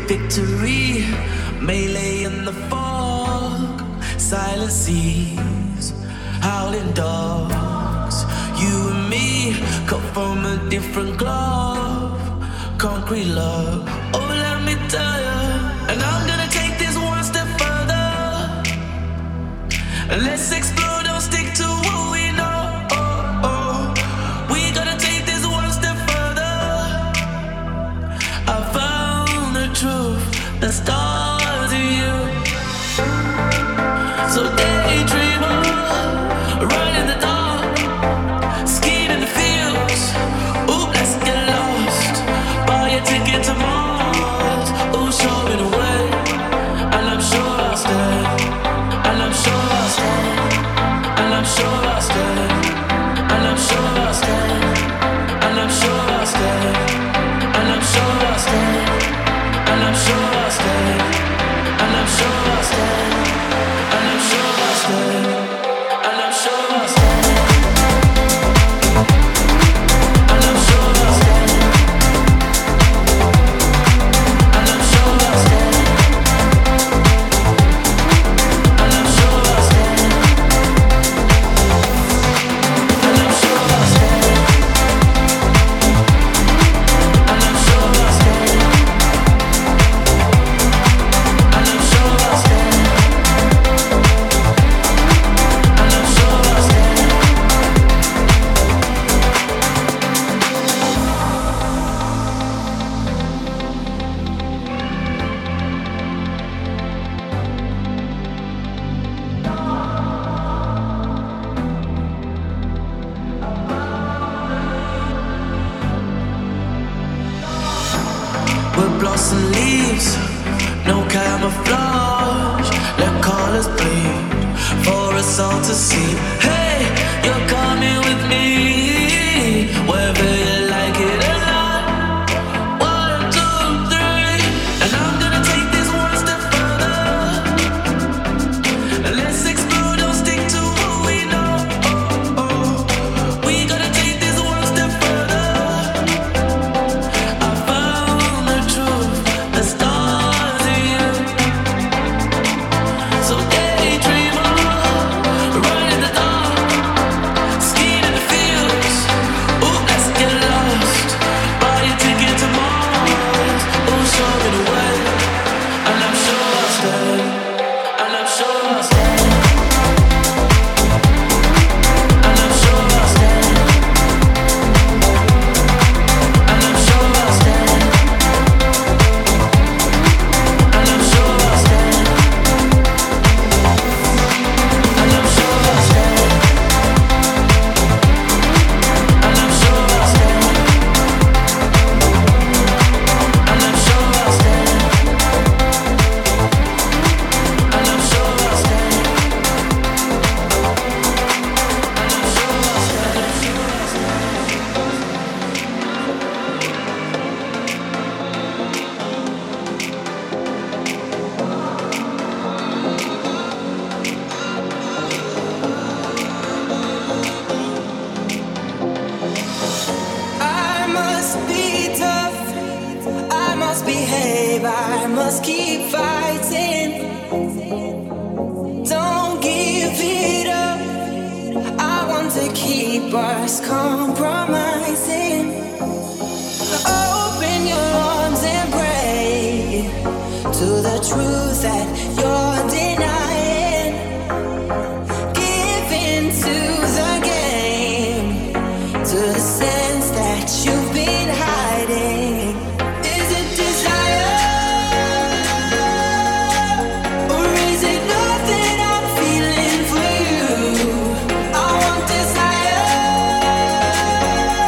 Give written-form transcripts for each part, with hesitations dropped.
victory, melee in the fog, silent seas, howling dogs. You and me cut from a different glove, concrete love. Oh, let me tell you, and I'm gonna take this one step further. Let's explore, don't stick to what we know. We gotta take this one step further. I found the truth, the stars in you. So daydreamer, run in the dark, skiing in the fields. Ooh, let's get lost. Buy a ticket to Mars. Ooh, show me the way, and I'm sure I'll stay. And I'm sure I'll stay. And I'm sure I'll stay. And I'm sure I'll stay. And I'm sure I'll stay. And I'm sure I'll stay. And I'm sure I'll stay. And I'm sure I'll stay. And I'm sure I'll stay. And I'm sure I'll stay. And I'm sure I'll stay. And I'm sure I'll stay. And I'm sure I'll stay. And I'm sure I'll stay. And I'm sure I'll stay. And I'm sure I'll stay. And I'm sure I'll stay. We're blossom leaves, no camouflage. Let colors bleed for us all to see. Hey, you're coming with me, whether you like it or not. 1, 2, 3, and I'm gonna take this one step further. And let's explore, don't stick to what we know. We gotta take this one step further. I found the truth, the stars in you. So daydreamer, run in the dark, skiing in the fields. Ooh, let's get lost. Buy a ticket to Mars. Ooh, show me the way, and I'm sure I'll stay. And I'm sure I'll stay. And I'm sure I'll stay. And I'm sure I'll stay. And I'm sure I'll stay. And I'm sure I'll stay. And I'm sure I'll stay. And I'm sure I'll stay. And I'm sure I'll stay. I must be tough, I must behave, I must keep fighting. Don't give it up, I want to keep us compromising. Open your arms and pray to the truth that you're denying. Give in to the game, to the sense that you've been hiding. Is it desire, or is it love that I'm feeling for you? I want desire.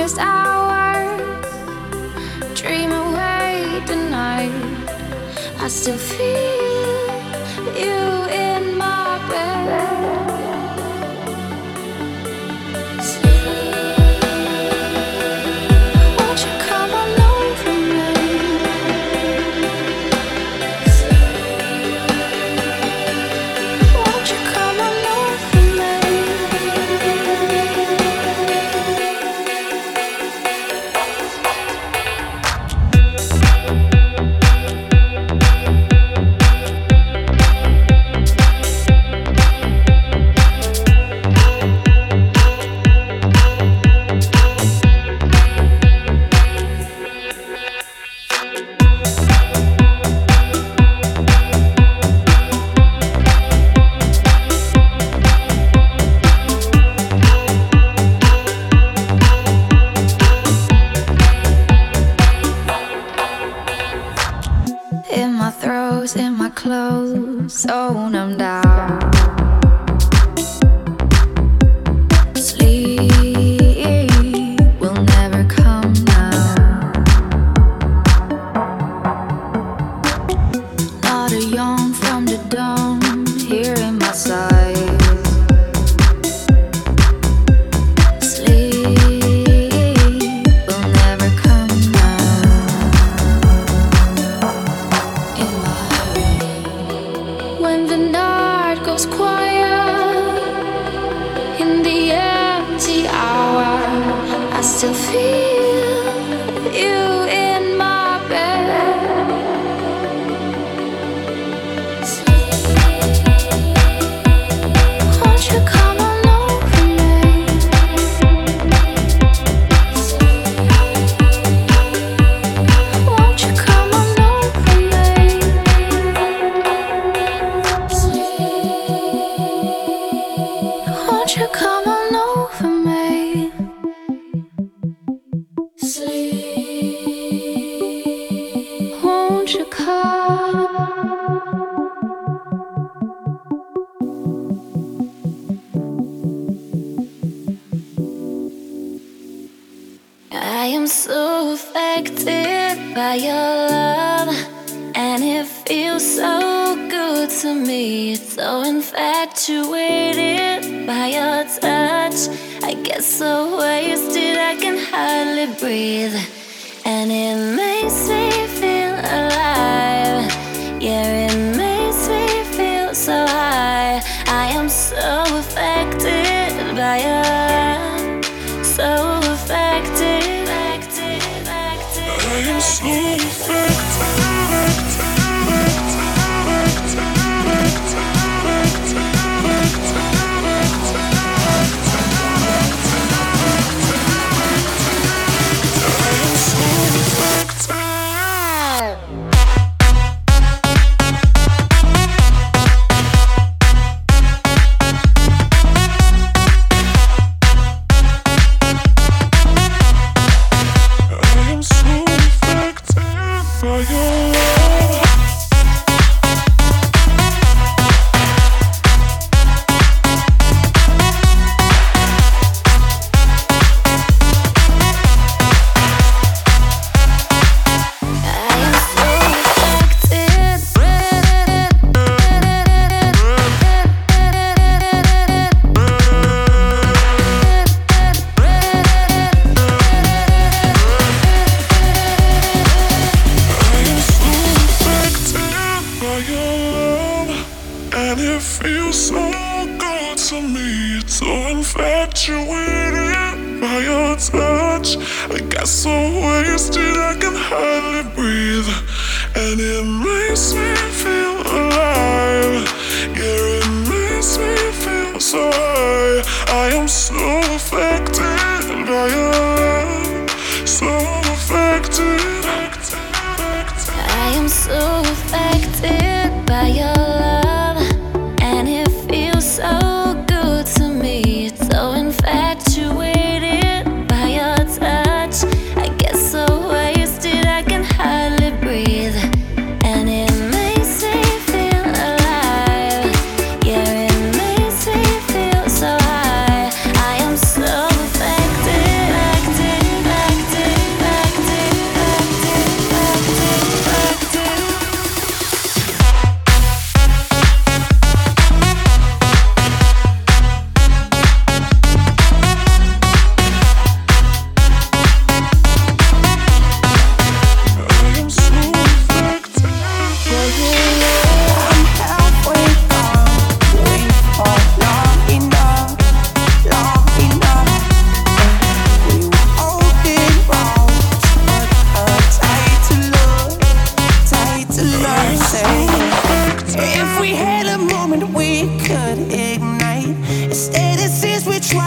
darkest hours, dream away tonight. I still feel you in my bed. Won't you come on over me? Won't you come on over me? In my throes, in my clothes, so numbed out. Sleep will never come now. Not a yawn from the dawn here in my sight. Sleep will never come now. When the night goes quiet, in the empty hour, I still feel you in my bed. Won't you come on over me? Won't you come on over me? Won't you come on over me? Sleep. Won't you come? I am so affected by your love, and it feels so good to me. So infatuated by your touch, I get so wasted I can hardly breathe, and it makes me feel alive. Yeah, it makes me feel so high. I am so affected by your love, so affected. I am so affected. Infatuated by your touch, I got so wasted I can hardly breathe, and it makes me feel alive. Yeah, it makes me feel so high. I am so affected by your love, so affected. I am so affected by your love, and it feels so good to me. So infatuated by your touch, I get so wasted I can hardly breathe, and it makes me feel alive. Yeah, it makes me feel so high. I am so affected.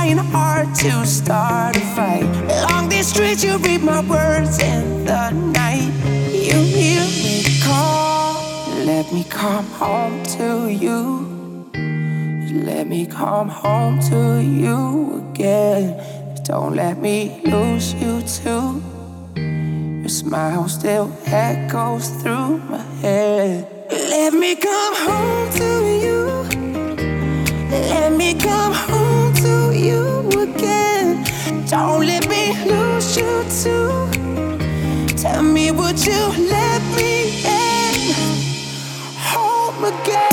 trying hard to start a fight. Along these streets you read my words in the night. You hear me call, let me come home to you. Let me come home to you again. Don't let me lose you too. Your smile still echoes through my head. Let me come home to you. Let me come home to you again. Don't let me lose you too. Tell me, would you let me in? Home again.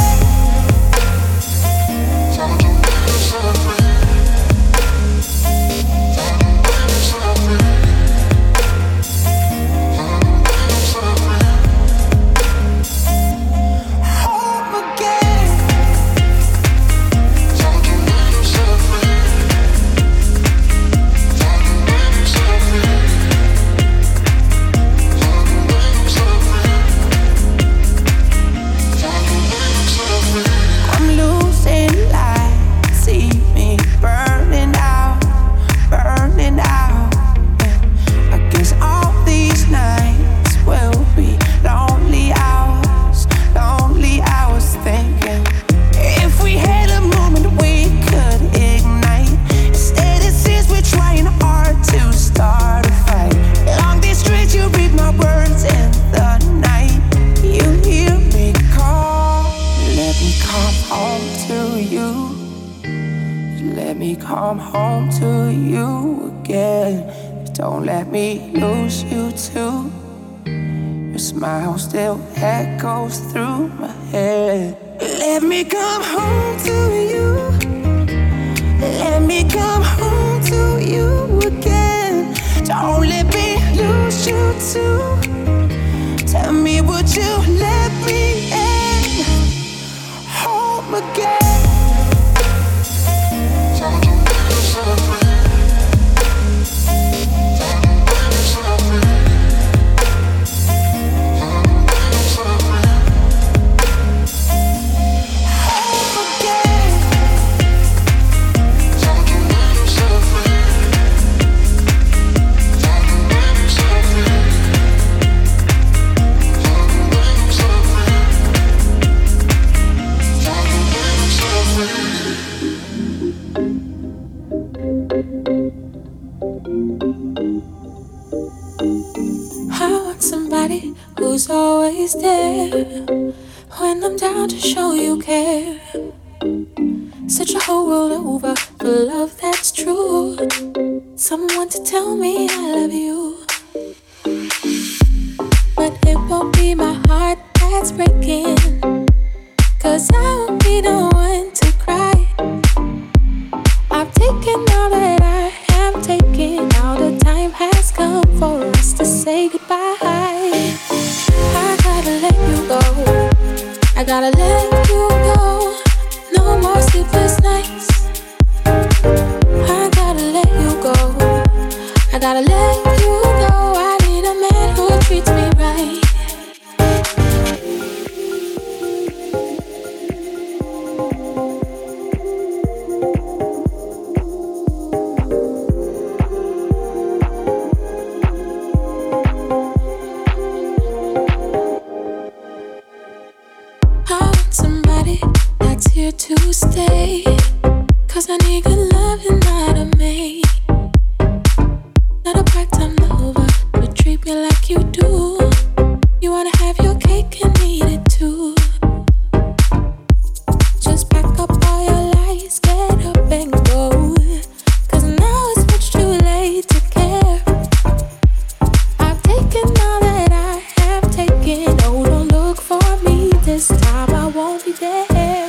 Come home to you again. Don't let me lose you too. Your smile still echoes through my head. Let me come home to you. Let me come home to you again. Don't let me lose you too. Tell me, would you let me in? Home again. Who's always there when I'm down to show you care. Search the whole world over for love that's true. Someone to tell me I love you. But it won't be my heart that's breaking, 'cause I won't be the one to cry. I've taken all that I have taken. Now the time has come for us to say goodbye. I gotta let you go. I gotta let you go. No more sleepless nights. I gotta let you go. I gotta let you go. I need a man who treats me right. Here to stay, 'cause I need good love and not a maid. Not a part-time lover to treat me like you do. You wanna have your cake and eat it too. Just pack up all your lies, get up and go, 'cause now it's much too late to care. I've taken all that I have taken. Oh, don't look for me this time, I won't be there.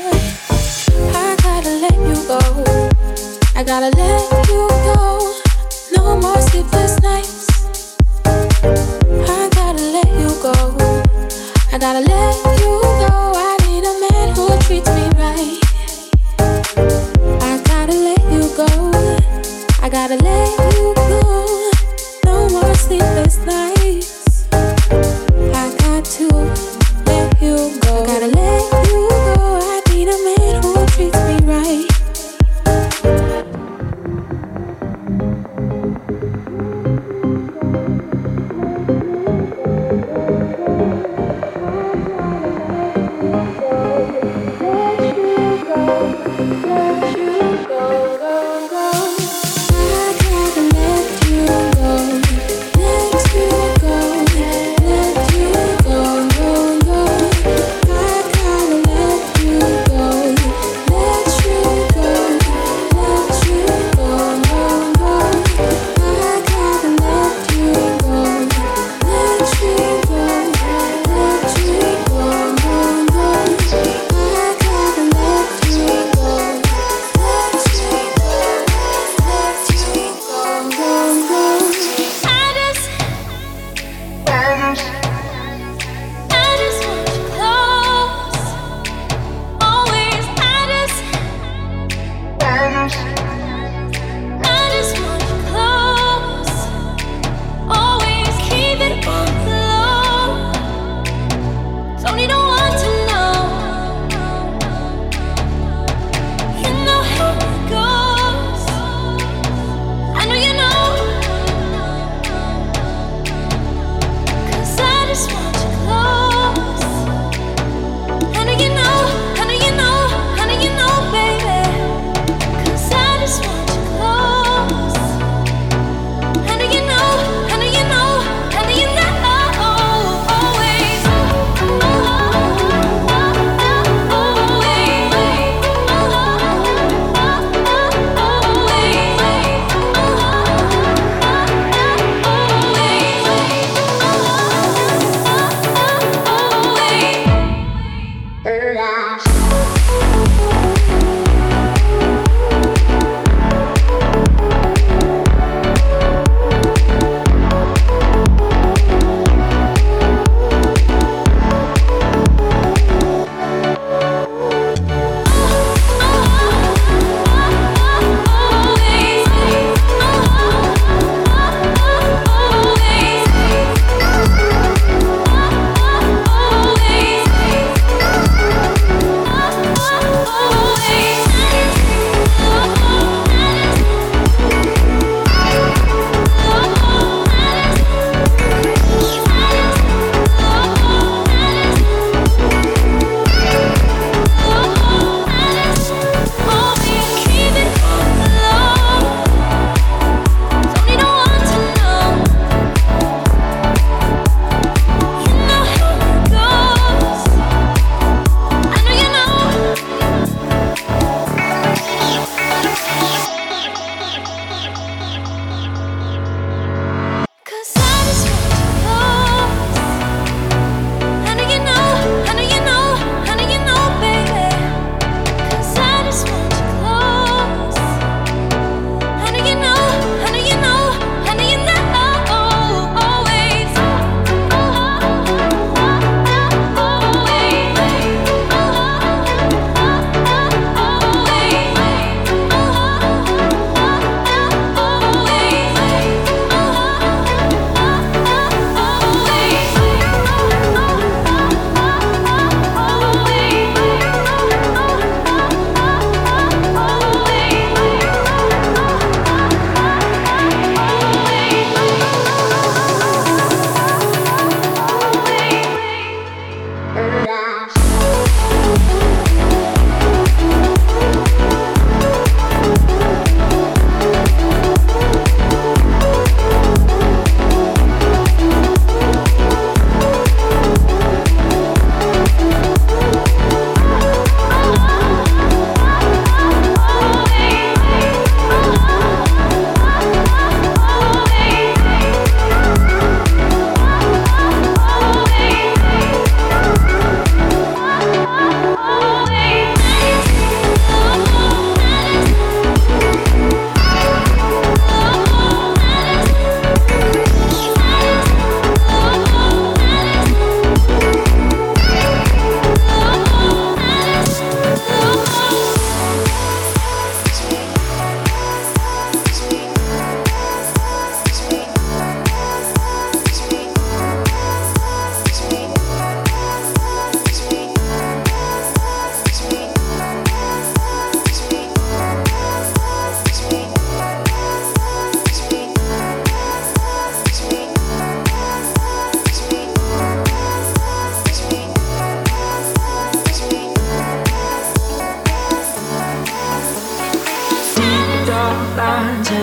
I gotta let you go. No more sleepless nights. I gotta let you go. I gotta let you go. I need a man who treats me right. I gotta let you go. I gotta let you go. No more sleepless nights. I got to let you go. I gotta let you go. I need a man who treats me right.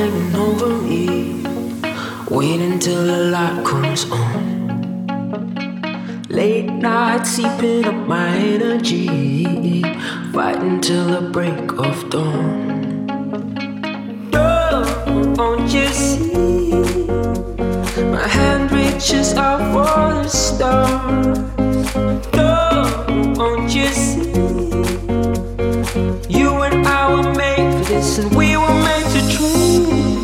hanging over me. Waiting till the light comes on. Late night seeping up my energy, fighting till the break of dawn. Don't you see? My hand reaches out for the stars. Don't you see? You and I were made for this, and we were made to dream.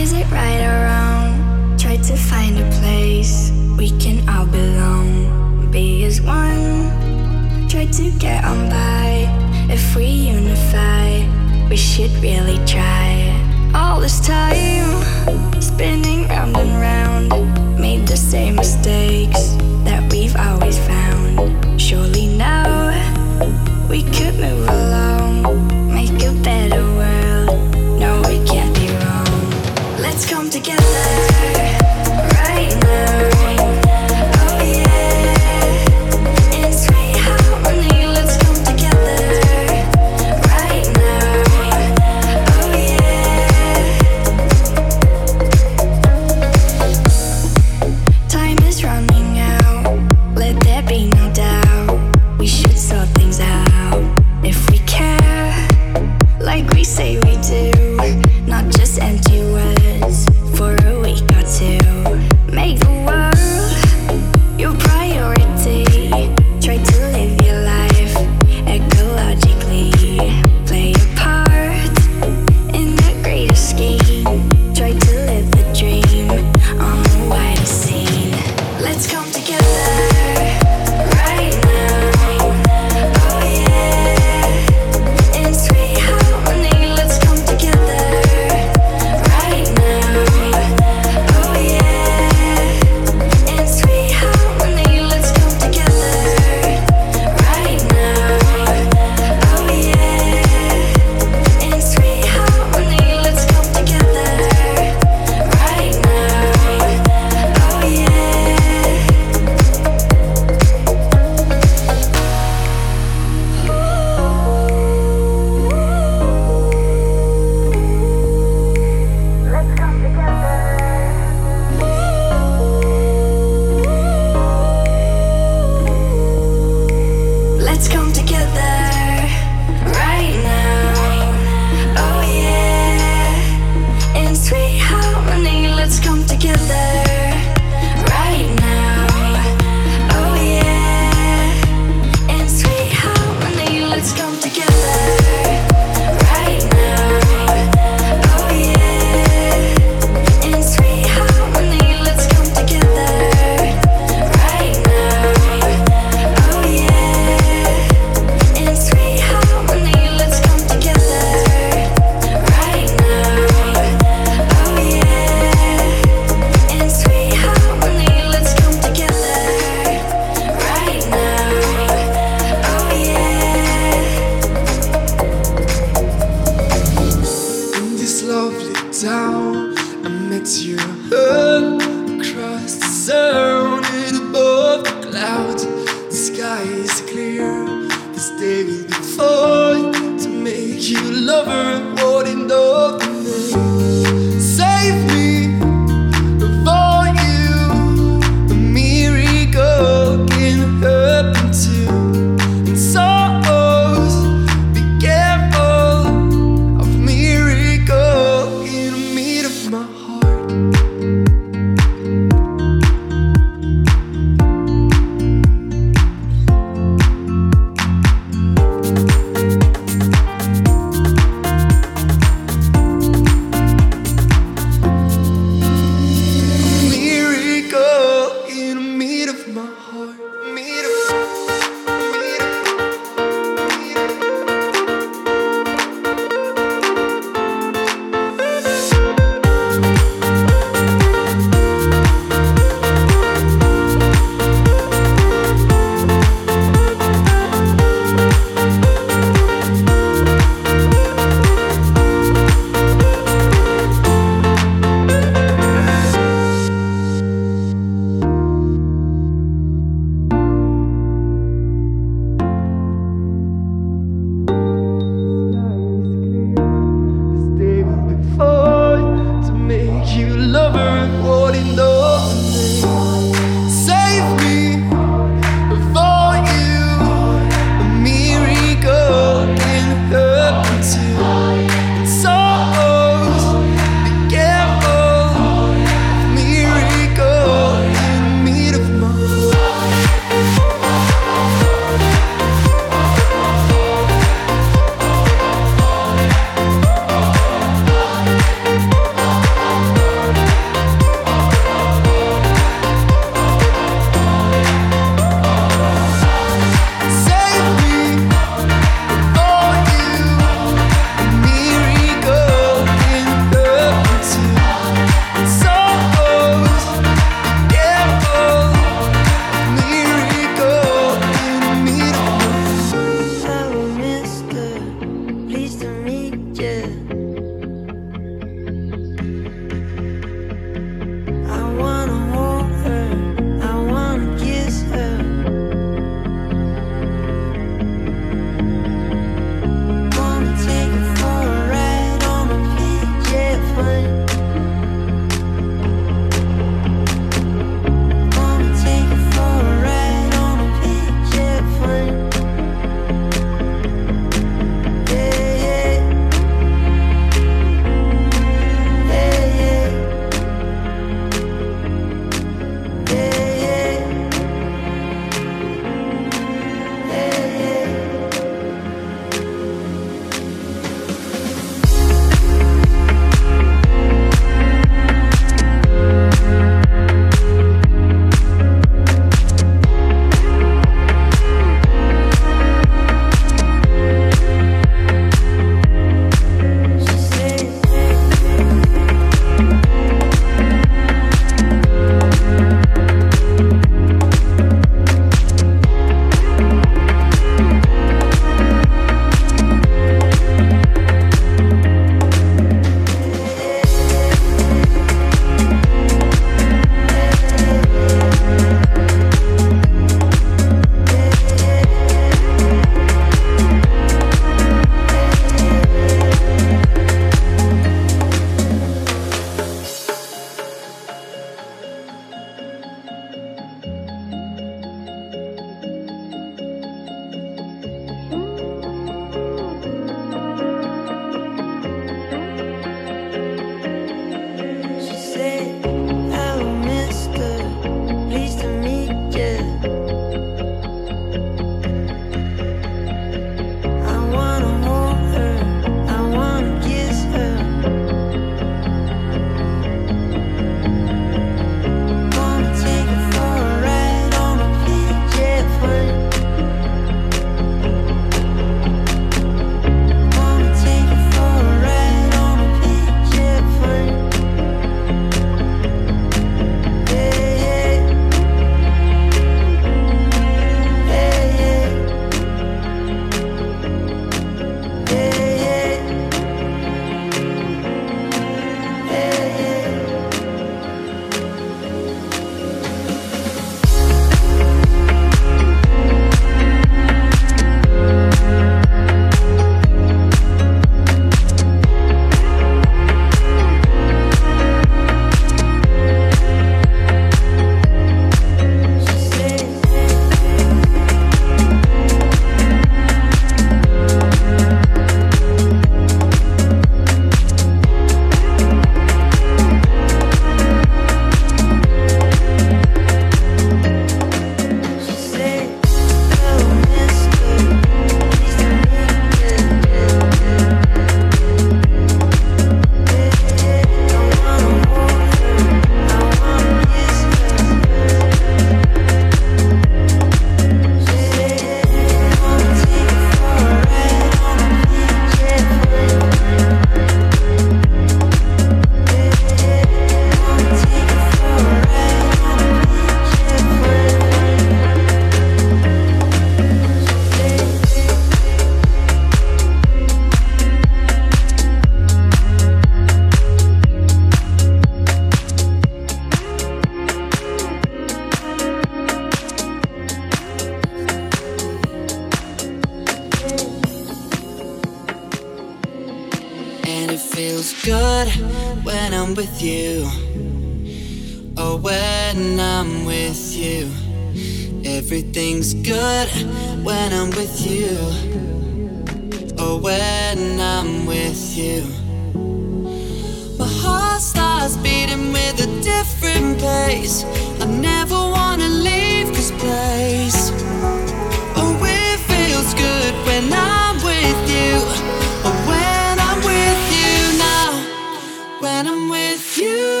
good when I'm with you. Oh, when I'm with you. Everything's good when I'm with you. Oh, when I'm with you. My heart starts beating with a different pace. I never wanna leave this place. Oh, it feels good when I'm with you. Oh, when I'm with you now. When I'm with you.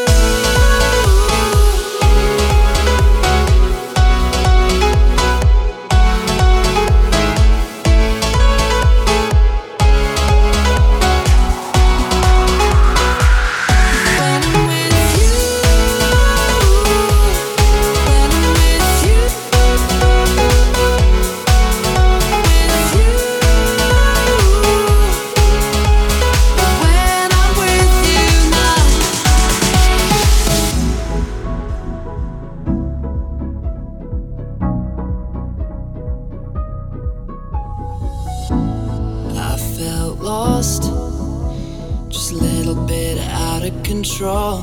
Lost, just a little bit out of control.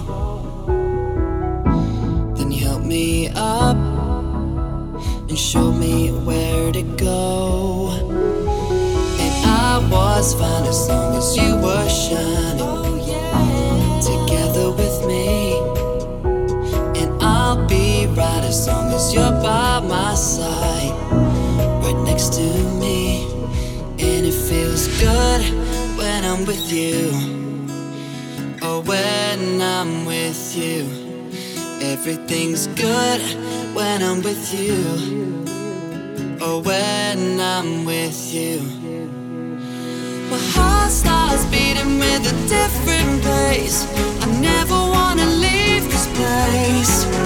Then you helped me up and showed me where to go. And I was fine as long as you were shining together with me. And I'll be right as long as you're by my side, right next to me. And it feels good when I'm with you. Oh, when I'm with you. Everything's good when I'm with you. Oh, when I'm with you. My heart starts beating with a different pace. I never wanna leave this place.